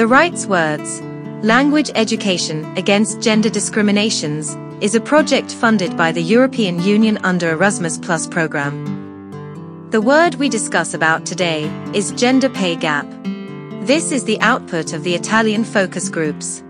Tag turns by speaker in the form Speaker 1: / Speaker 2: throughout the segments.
Speaker 1: The Rights Words, Language Education Against Gender Discriminations, is a project funded by the European Union under Erasmus Plus program. The word we discuss about today is gender pay gap. This is the output of the Italian focus groups.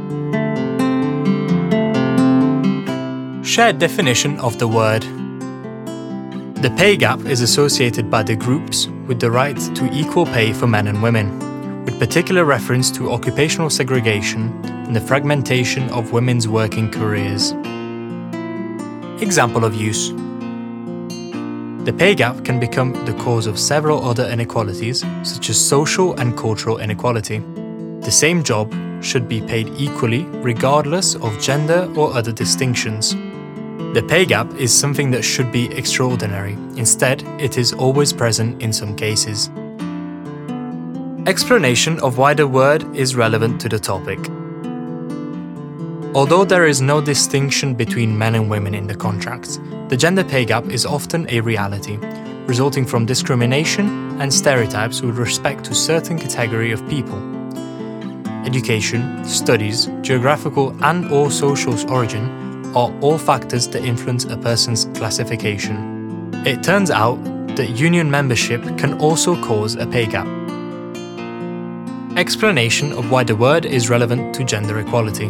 Speaker 2: Shared definition of the word. The pay gap is associated by the groups with the right to equal pay for men and women, with particular reference to occupational segregation and the fragmentation of women's working careers. Example of use. The pay gap can become the cause of several other inequalities, such as social and cultural inequality. The same job should be paid equally regardless of gender or other distinctions. The pay gap is something that should be extraordinary. Instead, it is always present in some cases. Explanation of why the word is relevant to the topic. Although there is no distinction between men and women in the contracts, the gender pay gap is often a reality, resulting from discrimination and stereotypes with respect to certain category of people. Education, studies, geographical and/or social origin are all factors that influence a person's classification. It turns out that union membership can also cause a pay gap. Explanation of why the word is relevant to gender equality.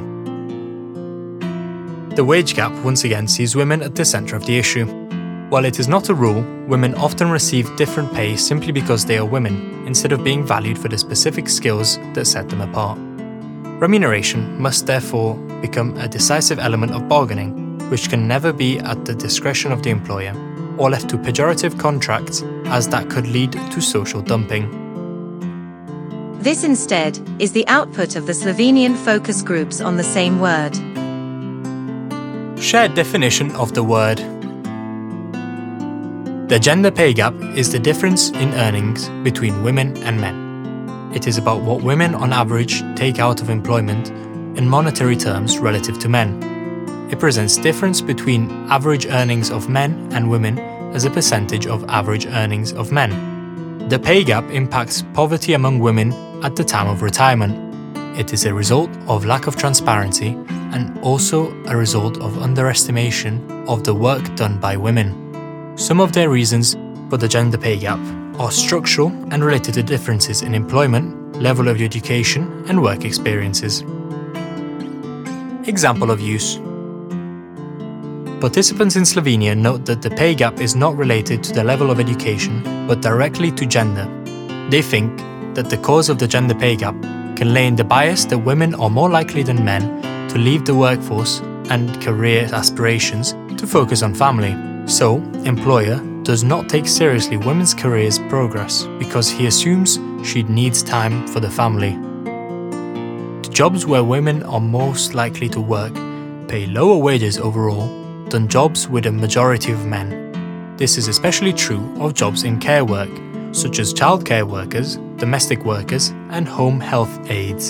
Speaker 2: The wage gap once again sees women at the centre of the issue. While it is not a rule, women often receive different pay simply because they are women, instead of being valued for the specific skills that set them apart. Remuneration must therefore become a decisive element of bargaining, which can never be at the discretion of the employer, or left to pejorative contracts, as that could lead to social dumping.
Speaker 1: This instead is the output of the Slovenian focus groups on the same word.
Speaker 2: Shared definition of the word. The gender pay gap is the difference in earnings between women and men. It is about what women on average take out of employment in monetary terms relative to men. It presents difference between average earnings of men and women as a percentage of average earnings of men. The pay gap impacts poverty among women at the time of retirement. It is a result of lack of transparency and also a result of underestimation of the work done by women. Some of their reasons for the gender pay gap are structural and related to differences in employment, level of education, and work experiences. Example of use. Participants in Slovenia note that the pay gap is not related to the level of education, but directly to gender. They think that the cause of the gender pay gap can lay in the bias that women are more likely than men to leave the workforce and career aspirations to focus on family. So, employer does not take seriously women's careers progress because he assumes she needs time for the family. The jobs where women are most likely to work pay lower wages overall than jobs with a majority of men. This is especially true of jobs in care work, such as childcare workers, domestic workers, and home health aides.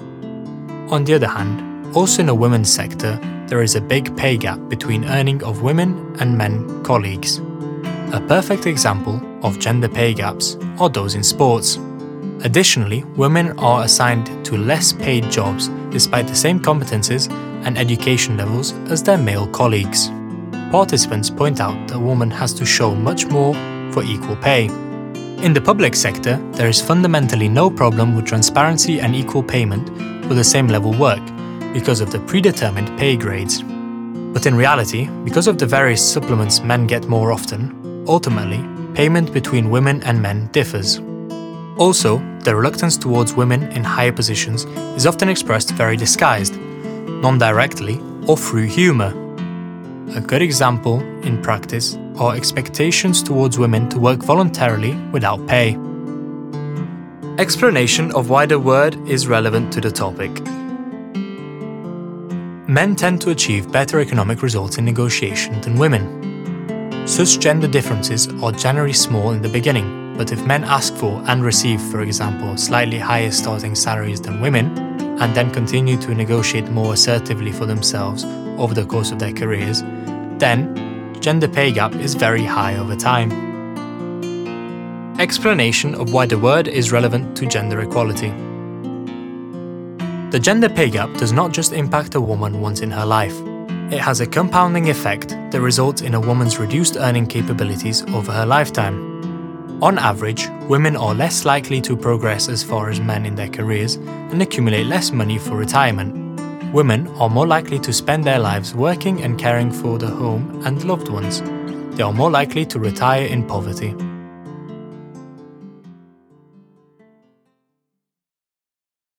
Speaker 2: On the other hand, also in the women's sector, there is a big pay gap between earning of women and men colleagues. A perfect example of gender pay gaps are those in sports. Additionally, women are assigned to less paid jobs despite the same competences and education levels as their male colleagues. Participants point out that a woman has to show much more for equal pay. In the public sector, there is fundamentally no problem with transparency and equal payment for the same level work because of the predetermined pay grades. But in reality, because of the various supplements men get more often, ultimately, payment between women and men differs. Also, the reluctance towards women in higher positions is often expressed very disguised, non-directly or through humour. A good example in practice are expectations towards women to work voluntarily without pay. Explanation of why the word is relevant to the topic. Men tend to achieve better economic results in negotiation than women. Such gender differences are generally small in the beginning, but if men ask for and receive, for example, slightly higher starting salaries than women, and then continue to negotiate more assertively for themselves over the course of their careers, then gender pay gap is very high over time. Explanation of why the word is relevant to gender equality. The gender pay gap does not just impact a woman once in her life. It has a compounding effect that results in a woman's reduced earning capabilities over her lifetime. On average, women are less likely to progress as far as men in their careers and accumulate less money for retirement. Women are more likely to spend their lives working and caring for the home and loved ones. They are more likely to retire in poverty.